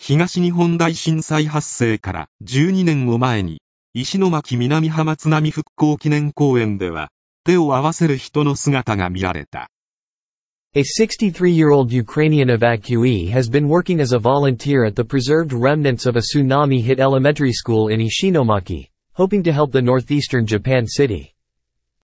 東日本大震災発生から12年を前に、石巻南浜津波復興記念公園では、手を合わせる人の姿が見られた。 A 63-year-old Ukrainian evacuee has been working as a volunteer at the preserved remnants of a tsunami-hit elementary school in Ishinomaki, hoping to help the northeastern Japan city.